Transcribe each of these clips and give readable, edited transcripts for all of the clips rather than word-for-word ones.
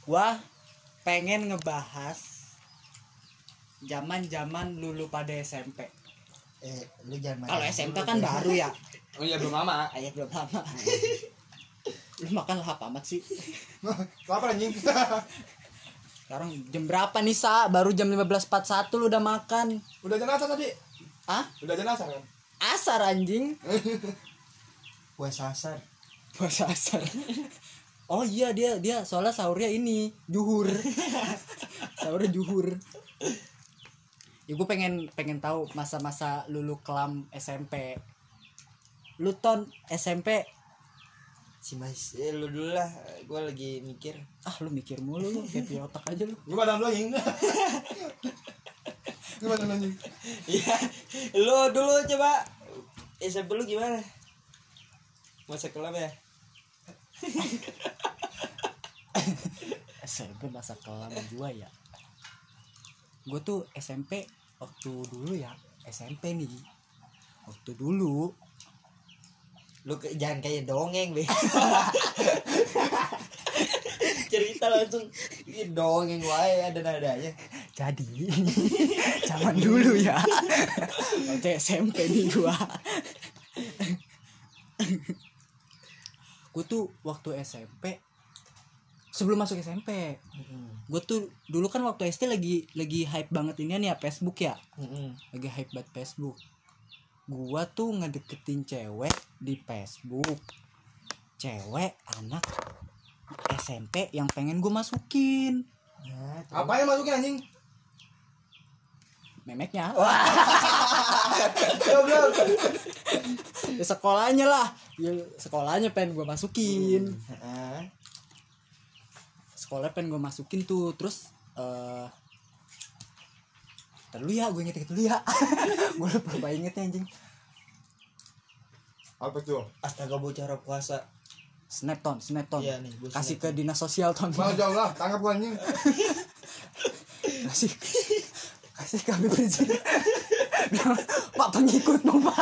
Gua pengen ngebahas zaman-zaman lulu pada SMP. Lu jangan. Kalau SMK kan baru ya. Oh iya belum lama. Ayah belum lama. Lu makan lahap amat sih. Lapar anjing. Sekarang jam berapa nih, Sa? Baru jam 15.41 lu udah makan. Udah jenazah tadi. Hah? Udah jenazah kan? Asar anjing. Puasa asar. Puasa asar. Oh iya dia soalnya sahurnya ini juhur. Sahurnya juhur. Ya gue pengen tahu masa-masa lulu kelam SMP. Lu Ton SMP. Si Mas, lu dulu lah. Gue lagi mikir. Ah lu mikir mulu lu, kayak punya otak aja lu. Gimana lu anjing? Gimana anjing? Iya, lu dulu coba. SMP lu gimana? Masa kelam ya? SMP masa kelam gua ya. Gue tuh SMP waktu dulu ya. SMP nih. Waktu dulu Lu jangan kayak dongeng, Be. Cerita langsung. Ini dongeng wae ada nadanya. jadi zaman dulu ya. Waktu SMP nih gua. Gue tuh waktu SMP sebelum masuk SMP, gue tuh dulu kan waktu SD lagi hype banget ini nih ya Facebook ya, lagi hype banget Facebook. Gue tuh ngedeketin cewek di Facebook, cewek anak SMP yang pengen gue masukin. Apa yang masukin anjing? Memeknya. Goblok. Ya sekolahnya lah, ya sekolahnya pengen gue masukin. Sekolah pengen gue masukin tuh, terus dulu ya, gue inget dulu ya. Gue lupa ingetnya anjing. Apa tuh? Astaga bocah puasa. Snapton. Iya nih, gue kasih ke dinas sosial Ton. Mau jauh lah, tangkap gua anjing. kasih kami Rizik. Pak pengikutmu Pak.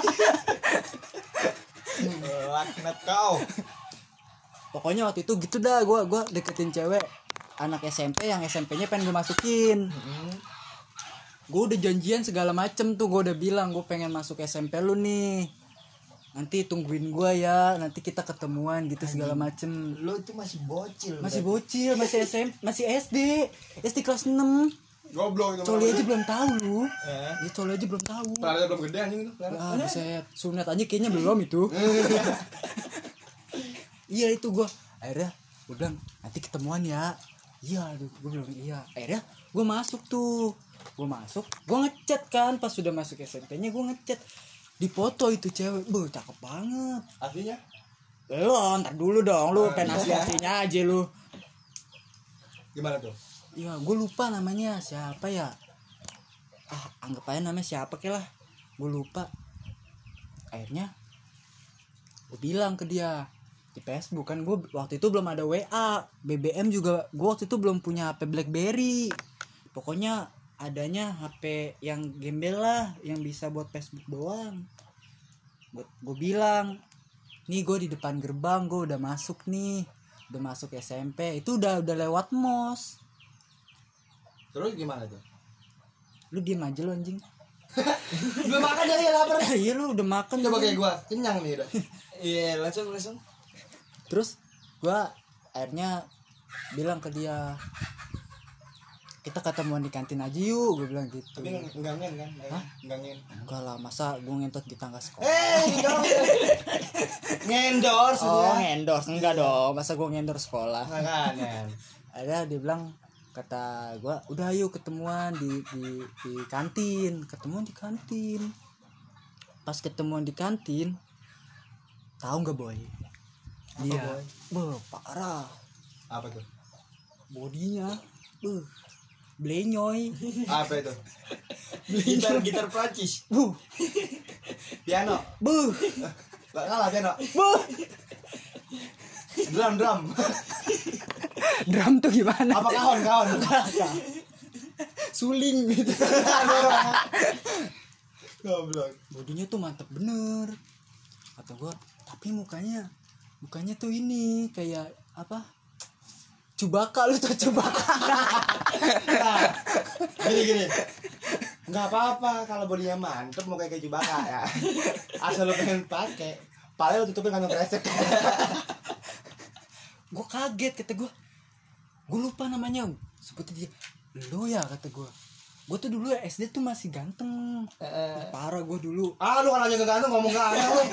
Laknat kau. Pokoknya waktu itu gitu dah, gue deketin cewek anak SMP yang SMP-nya pengen gue masukin. Gue udah janjian segala macem tuh, gue udah bilang gue pengen masuk SMP lu nih, nanti tungguin gue ya, nanti kita ketemuan gitu segala macem. Lu itu masih bocil. Masih SMP, masih SD kelas 6. Goblok itu. Coli aja belum tahu lu. Ya coli aja belum tahu. Pelaranya belum gede anjing itu. Ah, buset, sunat aja kayaknya belum itu. Iya itu gue akhirnya gue bilang nanti ketemuan ya. Iya aduh gue bilang iya. Akhirnya gue masuk tuh. Gue ngechat kan pas sudah masuk SMP-nya, gue ngechat. Di foto itu cewek, cakep banget. Aslinya? Lo ntar dulu dong, lu pengen asli-aslinya aja lu. Gimana tuh? Iya, gue lupa namanya siapa ya. Anggap aja namanya siapa ke lah. Gue lupa. Akhirnya gue bilang ke dia di Facebook kan, gue waktu itu belum ada WA, BBM juga gue waktu itu belum punya HP BlackBerry. Pokoknya adanya HP yang gembel lah, yang bisa buat Facebook doang. Gue bilang, nih gue di depan gerbang, gue udah masuk nih, udah masuk SMP. Itu udah lewat MOS. Terus gimana tuh? Lu diem aja lu anjing. Belum makan ya, lapar. Iya lu udah makan. Coba kayak gua, kenyang nih udah. Iya, langsung. Terus gua akhirnya bilang ke dia, kita ketemuan di kantin aja yuk, gue bilang gitu. Tapi enggak ngen kan? Hah? Enggak ngen. Enggak lah, masa gue ngentot di tangga sekolah. Ngendorse Oh ngendorse, enggak dong, masa gue ngendorse sekolah. Ngen. Akhirnya dia bilang, kata gue, udah ayo ketemuan di kantin. Ketemuan di kantin. Pas ketemuan di kantin, tahu nggak boy? Dia, parah. Apa tuh? Bodinya, blenyoy. Apa itu? gitar Prancis. Piano. Gak kalah piano. Drum. Drum tuh gimana? Apa kahon? Suling gitu. Goblok. Bodinya tuh mantep bener. Kata gua, tapi mukanya tuh ini kayak apa? Cubaka, lu tuh Cubaka. Nah, gini. Nggak apa-apa kalau bodinya mantep mau kayak Chewbacca ya. Asal lu pengen pakai, paling lu tutupin kantong kresek. Gue kaget, kata gue lupa namanya, seperti dia. Lu ya, kata gue tuh dulu SD tuh masih ganteng. Parah gue dulu. Lu kan aja ganteng ngomong gak ada lu.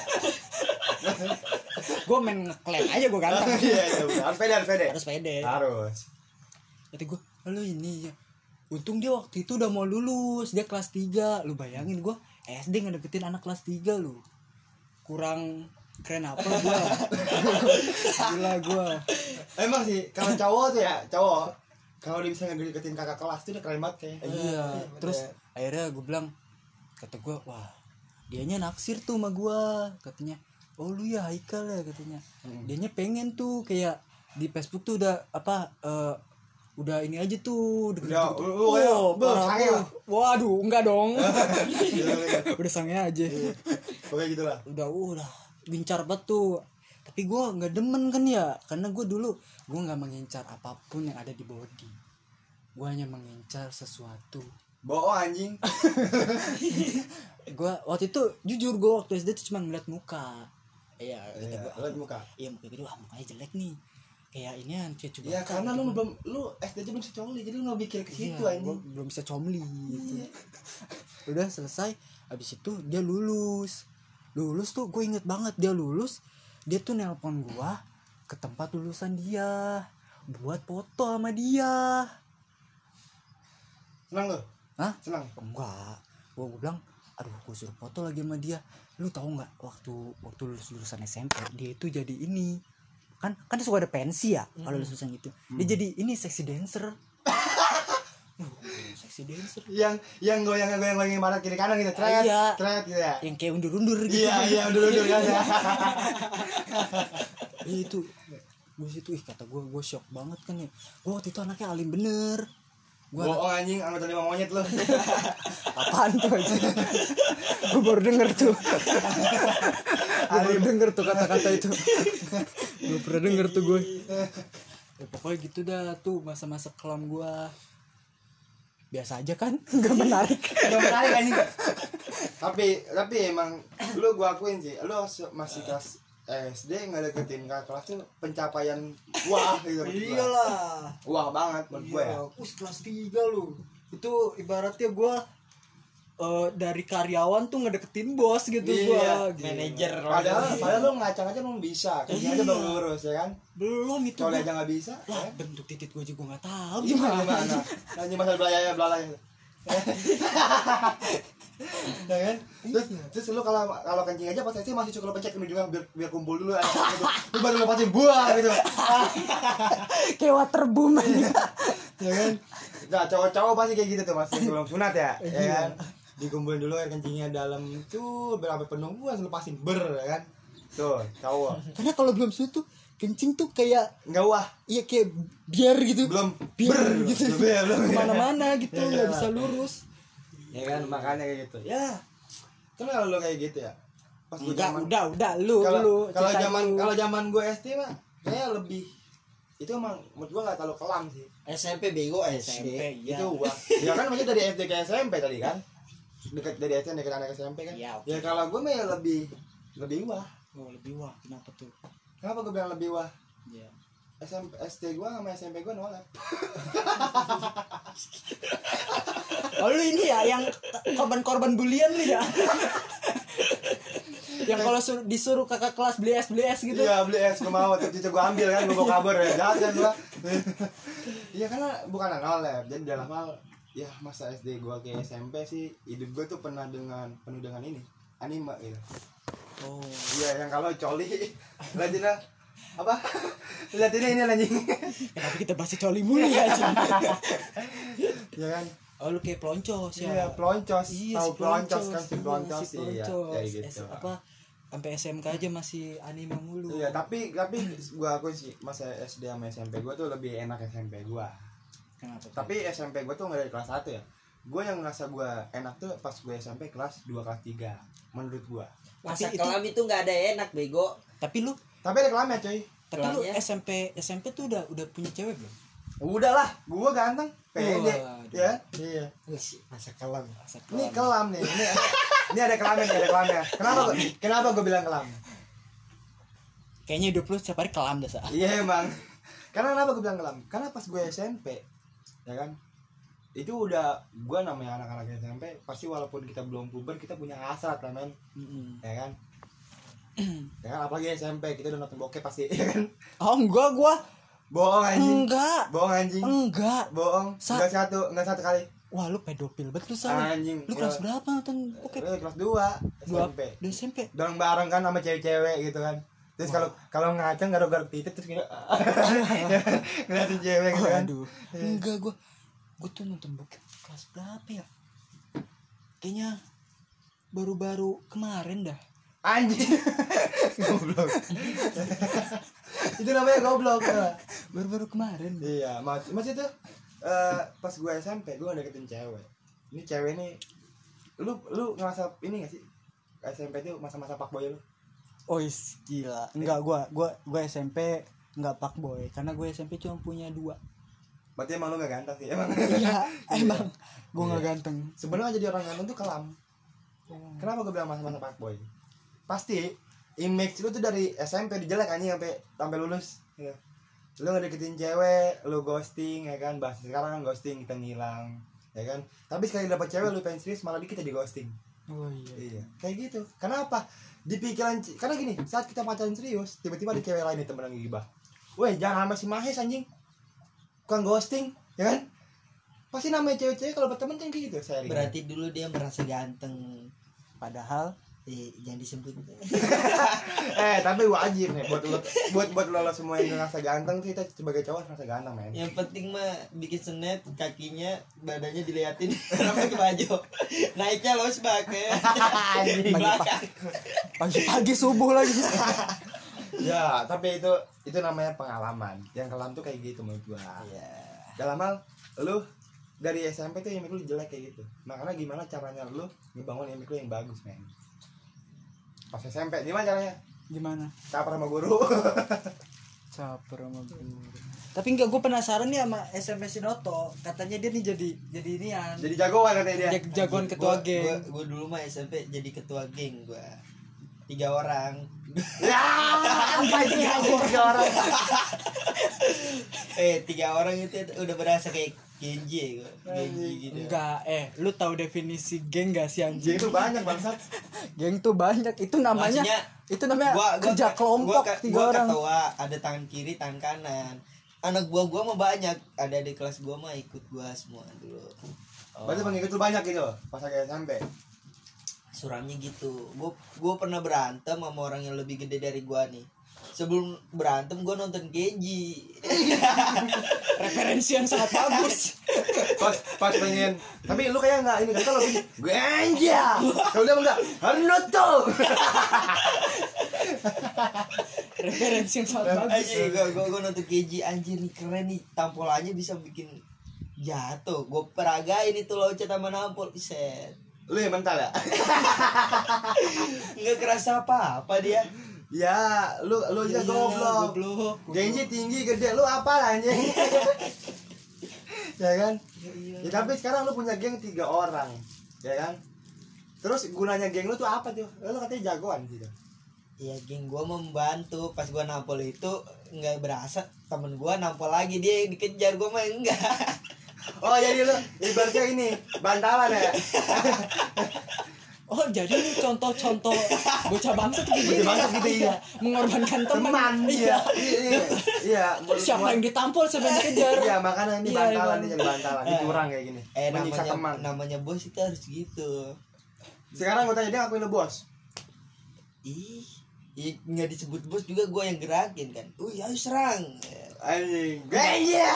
Gue main ngeklaim aja gue ganteng. Iya, harus pede. Harus pede. Harus. Kata gue, lu ini ya. Untung dia waktu itu udah mau lulus, dia kelas 3. Lu bayangin gue SD ngedeketin anak kelas 3 lu. Kurang keren apa gue. Gila gue. Emang sih kalau cowok tuh ya, kalau dia bisa ngedeketin kakak kelas tuh udah keren banget kayak. Iya. Terus akhirnya gue bilang, kata gue, wah dianya naksir tuh sama gue. Katanya, oh lu ya Haikal ya, katanya. Dianya pengen tuh kayak di Facebook tuh udah udah ini aja tuh Udah, parah sange tuh. lah. Waduh, enggak dong. Iya. Udah sange aja. Pokoknya gitu lah. Udah bincar banget tuh. Tapi gue nggak demen kan ya, karena gue dulu gue nggak mengincar apapun yang ada di body. Gue hanya mengincar sesuatu. Bohong anjing. Gue waktu itu jujur, gue waktu SD tuh cuma ngeliat muka. Iya, kata gue. Lihat muka. Iya, muka gitu, mukanya jelek nih. Kayak ini kayak coba. Ya karena lu SD aja belum bisa coli, jadi lu nggak mikir ke situ Iya, anjing. gua belum bisa comli gitu. Udah selesai, habis itu dia lulus tuh gue inget banget, dia lulus, dia tuh nelpon gua ke tempat lulusan dia buat foto sama dia. Senang lu? Hah? Senang. Enggak, gue bilang aduh gue suruh foto lagi sama dia. Lu tahu nggak waktu lulusan SMP dia itu jadi ini kan suka ada pensi ya kalau lulusan gitu. Dia jadi ini seksi dancer. Seksi dancer Yang goyang barat kiri kanan gitu, tret gitu ya. yang kayak undur gitu. Iya, undur kan ya. Itu gue situ kata gue shock banget kan ya. Gue waktu itu anaknya alim bener. Bohong anjing, anggota 5 monyet lu. Apaan tuh aja. Gue baru denger tuh. Kata-kata itu. Gue pernah denger tuh gue. Ya, pokoknya gitu dah tuh masa-masa kelam gue. Biasa aja kan, nggak menarik. Gak menarik anjing. Tapi emang lu gua akuin sih, lu masih kelas SD nggak deketin kakak kelas tuh pencapaian wah gitu. Iyalah. Wah banget menurut gue ya. Kelas 3 lu. Itu ibaratnya gue dari karyawan tuh ngedeketin bos gitu. Iya, gue manajer. Padahal lu ngacang-ngacang belum bisa, kayaknya aja baru lurus ya kan. belum itu Coli gua. aja nggak bisa. Lah Ya? bentuk titik gue juga nggak tahu Gimana? Nanti masalah belalai. Ya kan? Terus lu kalau kencing aja pas SD masih cukup pencet ini juga biar kumpul dulu gitu. Lu baru lepasin buah gitu. kayak waterboom aja. Ya kan? Nah, cowok-cowok pasti kayak gitu tuh masih belum sunat ya. Ya kan? Dikumpulin dulu air kencingnya dalam itu berapa penuh gua lepasin ya kan. Tuh, cowok. Karena kalau belum susu tuh kencing tuh kayak Enggak wah, iya kayak biar gitu. belum Biar gitu. belum. Kemana-mana gitu Ya, nggak ya. bisa lurus. Ya kan, makanya kayak gitu. Ya. Kan kalau lu kayak gitu ya. Pas gua zaman Udah lu kalau zaman gue SD mah kayak lebih itu emang menurut gue nggak terlalu kelam sih. SMP bego SMP, iya. Itu wah ya kan maksudnya dari SD ke SMP tadi kan dekat dari SD dekat anak SMP kan Iya, oke. ya kalau gue mah ya lebih wah. Oh, lebih wah, kenapa tuh? Kenapa gue bilang lebih wah? Iya. SMP SD gue sama SMP gue nolak. Oh lu ini ya yang korban bulian lu ya. Yang kalau disuruh kakak kelas beli es gitu. Iya beli es gue mau terus gue ambil kan gue bawa kabur ya jahat kan gue. Iya karena bukan nolak jadi dalam hal ya masa SD gue ke SMP sih hidup gue tuh penuh dengan ini anime gitu. Oh. Iya yang kalau coli lanjutnya apa lihat ini anjing. Kenapa kita bahas coli mulu ya? Ya kan. Oh lu kayak peloncos ya. Iya ploncos. Iya, Tahu si ploncos peloncos. kan si ploncos Si iya peloncos. kayak gitu. Apa sampai SMK aja masih anime mulu. Iya tapi gua akuin sih masa SD sama SMP gua tuh lebih enak SMP gua. Kenapa? Tapi SMP gua tuh enggak dari kelas 1 ya. Gua yang ngerasa gua enak tuh pas gua SMP kelas 2 kelas 3 menurut gua. Masa Tapi kelam itu nggak ada enak bego. Tapi lu Tapi ada kelamnya coy. Tapi lu Kelamnya? SMP tuh udah punya cewek belum? Udah lah, gua ganteng, pede. Waduh. Ya. Iya. Masa kelam. Ini kelam nih. Ini ada kelamnya, nih, ada kelamnya. Kenapa gua bilang kelam? Kayaknya hidup lu setiap hari kelam dah, Sa. Iya emang. Karena kenapa gue bilang kelam? Karena pas gue SMP, ya kan, itu udah gue namanya anak-anak SMP pasti walaupun kita belum puber kita punya hasrat lah men, ya kan, ya kan apalagi SMP kita udah nonton bokep pasti, ya kan. Oh enggak, gua Bohong anjing. enggak. Bohong anjing. Enggak. Bohong. Sa- Enggak satu kali. Wah, lu pedofil banget lu, Sa. Anjing. Lu kelas berapa nonton bokep? Kelas 2 Dua SMP. di SMP. Bareng-bareng kan sama cewek-cewek gitu kan. Terus kalau ngaceng garuk-garuk titik terus gitu ngeliatin cewek gitu kan. Aduh. Enggak, gua tuh nonton bokep kelas berapa ya? Kayaknya baru-baru kemarin dah. Anjing. Goblok. Itu namanya goblok ya. Baru-baru kemarin. Iya, masih tuh pas gue SMP gue deketin cewek. Ini cewek nih lu ngerasa ini gak sih? SMP tuh masa-masa fuckboy lu? Oh gila. Enggak, gua SMP enggak fuckboy karena gue SMP cuma punya 2. Berarti emang lu gak ganteng sih emang. Iya, emang gua enggak Iya. ganteng. Sebenarnya jadi orang ganteng tuh kelam. Kenapa gue bilang masa-masa fuckboy? Pasti image lu tuh dari SMP dijelek anjing sampai lulus. Ya. Lu ngedeketin cewek, lu ghosting ya kan, bahasa sekarang kan ghosting, kita ngilang, ya kan. Tapi sekali dapet cewek lu pengen serius malah kita di ghosting. Oh iya. Iya, kayak gitu. Kenapa? Di pikiran karena gini, saat kita pacaran serius, tiba-tiba ada cewek lain nih temen lagi gibah. Weh, jangan sama si Mahes anjing. Bukan ghosting, ya kan? Pasti namanya cewek-cewek kalau berteman kan kayak gitu, sharing. Berarti dulu dia merasa ganteng. Padahal Jangan disebut. Tapi wajib nih buat lo semua yang ngerasa ganteng tuh, kita sebagai cowok ngerasa ganteng, men. Yang penting mah bikin senet, kakinya, badannya diliatin sampai ke baju. Naiknya los bak ya. Di belakang. pagi subuh lagi. Ya, tapi itu namanya pengalaman. Yang kelam tuh kayak gitu menurut gua. Iya. Dalam hal lu dari SMP tuh image lu jelek kayak gitu. Makanya gimana caranya lu ngebangun image lu yang bagus, men? Pas SMP gimana caranya? Gimana? Caper sama guru. Caper sama guru. Tapi enggak, gue penasaran nih sama SMP Sinoto. Katanya dia nih jadi inian. Jadi jagoan katanya dia. Jagoan ketua geng. Gua dulu mah SMP jadi ketua geng gua. 3 orang. Ya, apa itu 3 orang? 3 orang itu udah berasa kayak Genji gua. Genji gitu. Enggak, lu tahu definisi geng gak sih anjing? Jadi itu banyak bangsat. Geng tuh banyak. Itu namanya kerja kelompok 3 orang. Ketua, ada tangan kiri, tangan kanan. Anak gua mah banyak. Ada di kelas gua mah ikut gua semua dulu. Berarti pengikut lu banyak gitu pas lagi SMP. Suramnya gitu. Gua pernah berantem sama orang yang lebih gede dari gua nih. Sebelum berantem gua nonton Genji. Referensi yang sangat bagus. Pas pengen. Tapi lu kayak enggak ini kan kalau begini. Gue aja. Kalau dia enggak, Naruto. Referensi yang sangat bagus. Anjir, gua nonton Genji, anjir nih keren nih, tampolannya bisa bikin jatuh. Gua peragain itu loncat sama nampol, set. Lu yang mental ya? Nggak kerasa apa dia. Ya, lu aja goblok. Genji tinggi gede, lu apa anjing? Ya kan? Ya, tapi sekarang lu punya geng 3 orang. Ya kan? Terus gunanya geng lu tuh apa tuh? Lu katanya jagoan gitu. Iya, geng gua membantu. Pas gua nampol itu nggak berasa temen gua nampol lagi, dia yang dikejar, gua mah enggak. Oh, jadi lu ibaratnya ini bantalan ya? Oh, jadi ini contoh-contoh bocah bangsa tuh gitu. Bocah bangsa gitu, iya. Mengorbankan teman. Iya. Iya. Siapa yang ditampol, siapa yang dikejar. Iya, makanya ini Iya, bantalan, emang. ini jadi bantalan, ini curang kayak gini. Menyiksa teman. namanya bos itu harus gitu. Sekarang gue tanya dia ngakuin lu bos. Nggak disebut bos juga gua yang gerakin kan. Ayo serang. Anjing. Iya.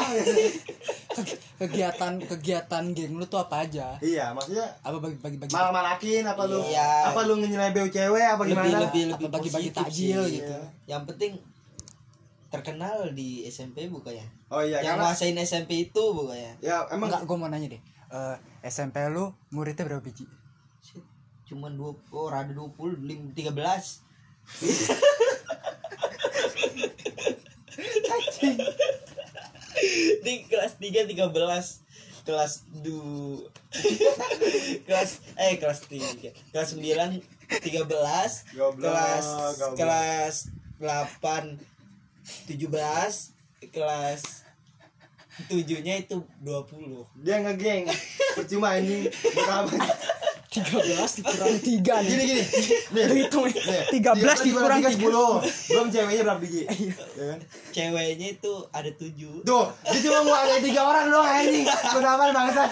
Kegiatan geng lu tuh apa aja? Iya, maksudnya Apa bagi malah-malakin apa lu? Iya. Apa lu ngenyelebeu cewek apa gimana? Lebih apa bagi-bagi positif takjil sih. gitu. Yang penting terkenal di SMP bukannya. Oh iya, Yang karena nguasain SMP itu bukannya. ya emang Enggak, gue mau nanya deh. SMP lu muridnya berapa biji? Shit, cuman 20, ada 20, 13. Ini kelas 3 13. Kelas 2 kelas 3 kelas 9 13 Goblok, kelas 8 17 kelas 7-nya itu 20. Dia ngegeng. Percuma anjing. Buat apa? 13 dikurang 3 nih. Gini. Nih, Lu hitung ya. nih. 13 dikurang 10. Belum ceweknya berapa biji? Ya kan? Ceweknya itu ada 7. Tuh, dia cuma mau ada 3 orang doang anjing. Kenapa bangsat?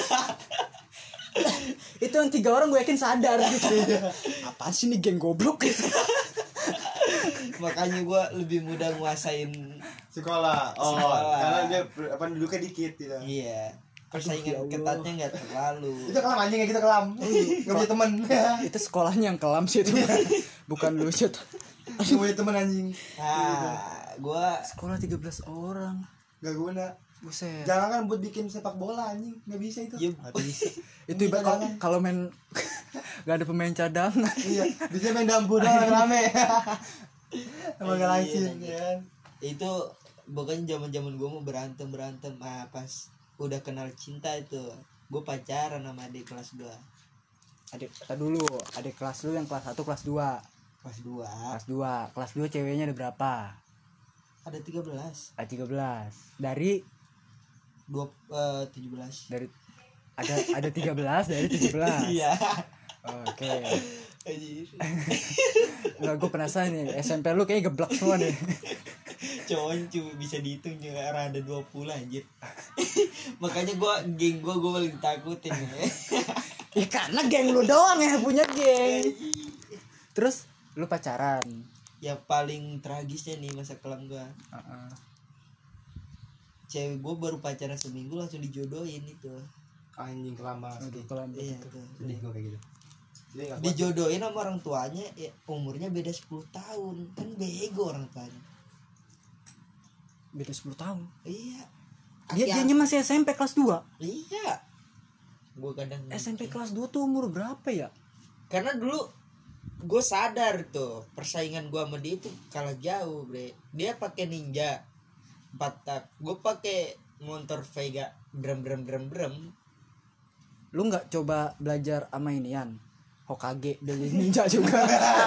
Itu yang 3 orang gue yakin sadar gitu. Apaan sih nih geng goblok gitu. Makanya gue lebih mudah nguasain. Sekolah. Oh, Sekolah. karena dia penduduknya dikit gitu. Iya. Persaingan Aduh, ya ketatnya nggak terlalu. Itu kelam anjing kayak gitu kelam. Enggak punya teman. Itu sekolahnya yang kelam sih itu. Bukan lu sih. Enggak punya teman anjing. Nah, gue Sekolah 13 orang. Enggak guna. Buset. Jangan kan buat bikin sepak bola anjing. Enggak bisa itu. ya, Nggak bisa. Itu Ini ibarat cadangan. kalau main gak ada pemain cadangan. Iya, bisa main dambur doang rame. Emang Iya, ngalahin iya. kan. itu pokoknya zaman gue mau berantem pas udah kenal cinta itu gue pacaran sama adik kelas 2. Adik kita dulu, adik kelas lu yang kelas 1 kelas 2. Kelas 2 Kelas 2 ceweknya ada berapa? ada 13 Ada 13. Dari 17. dari ada 13 dari 17. Iya. Oke. Anjir. Nggak, gue penasaran nih, SMP lu kayaknya geblek semua nih. Cowoknya cuma bisa dihitung juga karena ada 20 anjir. Makanya geng gue paling takutin ya. Ya karena geng lu doang yang punya geng. Terus lu pacaran. Yang paling tragisnya nih masa kelam gue, cewek gue baru pacaran seminggu langsung dijodohin itu. Anjing kelamaan. Aduh, kelam Iya gitu. tuh. Sedih gue kayak gitu. Jadi enggak kuat. Dijodohin sama orang tuanya ya, umurnya beda 10 tahun. Kan bego orang tuanya. Beda 10 tahun. Iya. Dianya masih SMP kelas 2. Iya. Gue kadang SMP kelas 2 tuh umur berapa ya? karena dulu gue sadar tuh persaingan gue sama dia itu kalah jauh, bre. Dia pakai Ninja 4 tak, gue pakai motor Vega brem. Lu nggak coba belajar sama inian Hokage dari ninja juga?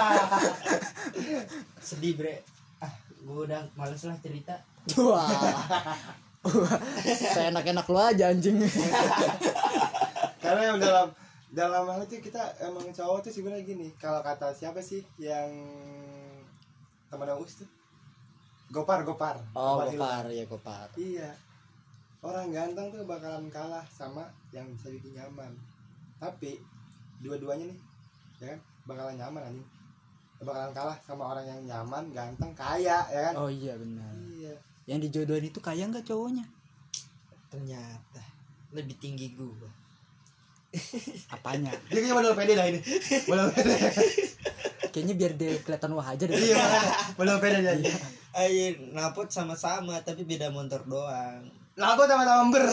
Sedih, bre. Gue udah males lah cerita. Wah. Seenak-enak lu aja anjing. Karena yang dalam hal itu kita emang cowok tuh sebenarnya gini. Kalau kata siapa sih yang teman Aus tuh? Gopar. Oh, Hilman. ya Gopar. Iya. Orang ganteng tuh bakalan kalah sama yang bisa bikin nyaman. Tapi dua-duanya nih, ya kan, bakalan nyaman anjing. Bakalan kalah sama orang yang nyaman, ganteng, kaya, ya kan? Oh iya benar. Iya. Yang dijodohin itu kaya nggak cowoknya? Ternyata lebih tinggi gue. Apanya? Dia kayaknya modal pede dah ini. Modal pede. Kayaknya biar dia kelihatan wah aja deh. Iya, modal pede dia. Ayo napot sama-sama tapi beda motor doang. Lah aku sama-sama ber.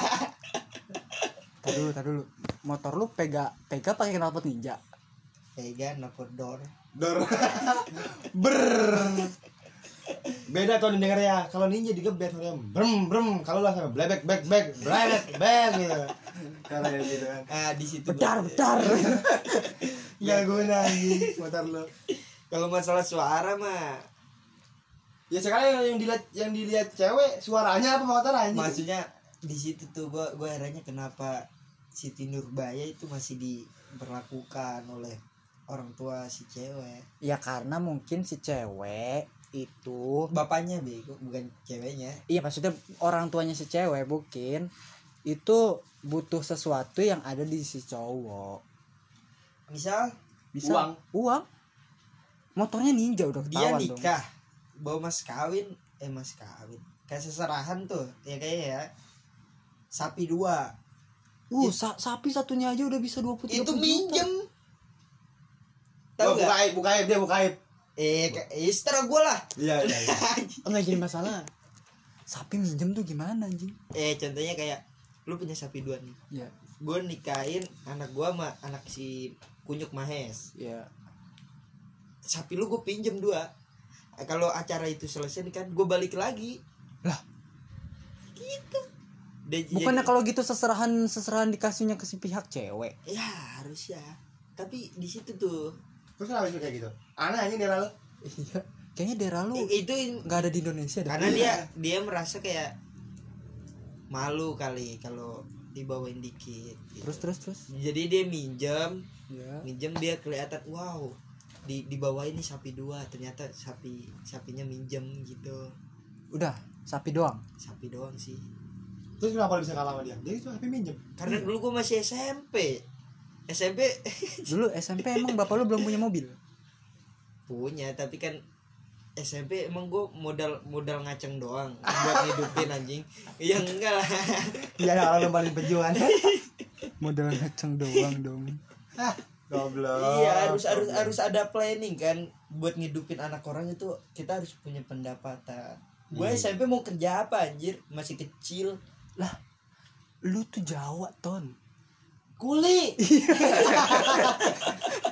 Tar dulu. Motor lu pega pakai knalpot ninja. Vega napot door. Dor. Ber. Beda tuh denger ya. Kalau ninja digebet dia brem. Kalau lah sama blebek bek gitu. Kalau ya gitu kan. Di situ Bedar. Enggak guna anjing motor lu. Kalau masalah suara mah Ya sekarang yang dilihat cewek suaranya apa motor anjing? maksudnya di situ tuh gue herannya kenapa Siti Nurbaya itu masih diberlakukan oleh orang tua si cewek. Ya karena mungkin si cewek itu, Bapaknya bego bukan ceweknya. iya maksudnya orang tuanya si cewek mungkin itu butuh sesuatu yang ada di si cowok. Misal Bisa uang. Motornya ninja udah dia ketahuan nikah bawa mas kawin kayak seserahan tuh ya kayaknya ya sapi 2 dong. Sapi satunya aja udah bisa 20-30 itu juta. minjem. Tahu nggak? Buka aib. Setara gue lah. Iya. Enggak jadi masalah. Sapi minjem tuh gimana anjing? Contohnya kayak lu punya sapi 2 nih. Iya. Gue nikahin anak gue sama anak si Kunyuk Mahes. Iya. Sapi lu gue pinjem 2. Kalau acara itu selesai nih kan gue balik lagi. Lah. gitu. Dia Bukannya kalau gitu seserahan dikasihnya ke si pihak cewek. ya harus ya. Tapi di situ tuh Terus kenapa bisa kayak gitu? Aneh aja daerah lo. Iya. Kayaknya daerah lu itu nggak ada di Indonesia dah. karena dia merasa kayak malu kali kalau dibawain dikit gitu. Terus. Jadi dia minjem Ya. dia kelihatan wow dibawain nih sapi 2, ternyata sapinya minjem gitu. Udah, sapi doang. Sapi doang sih. Terus kenapa lo bisa kalah sama dia? Dia itu HP minjem. Karena dulu gua masih SMP Dulu SMP emang bapak lu belum punya mobil. punya, tapi kan SMP emang gue modal ngaceng doang buat hidupin anjing. Ya enggak lah. Iya, orang paling pejuang. Modal ngaceng doang dong. Goblok. Iya, harus ada planning kan buat ngidupin anak orang itu. Kita harus punya pendapatan. Gue Iya. SMP mau kerja apa anjir, masih kecil. Lah, lu tuh Jawa, Ton. Kuli.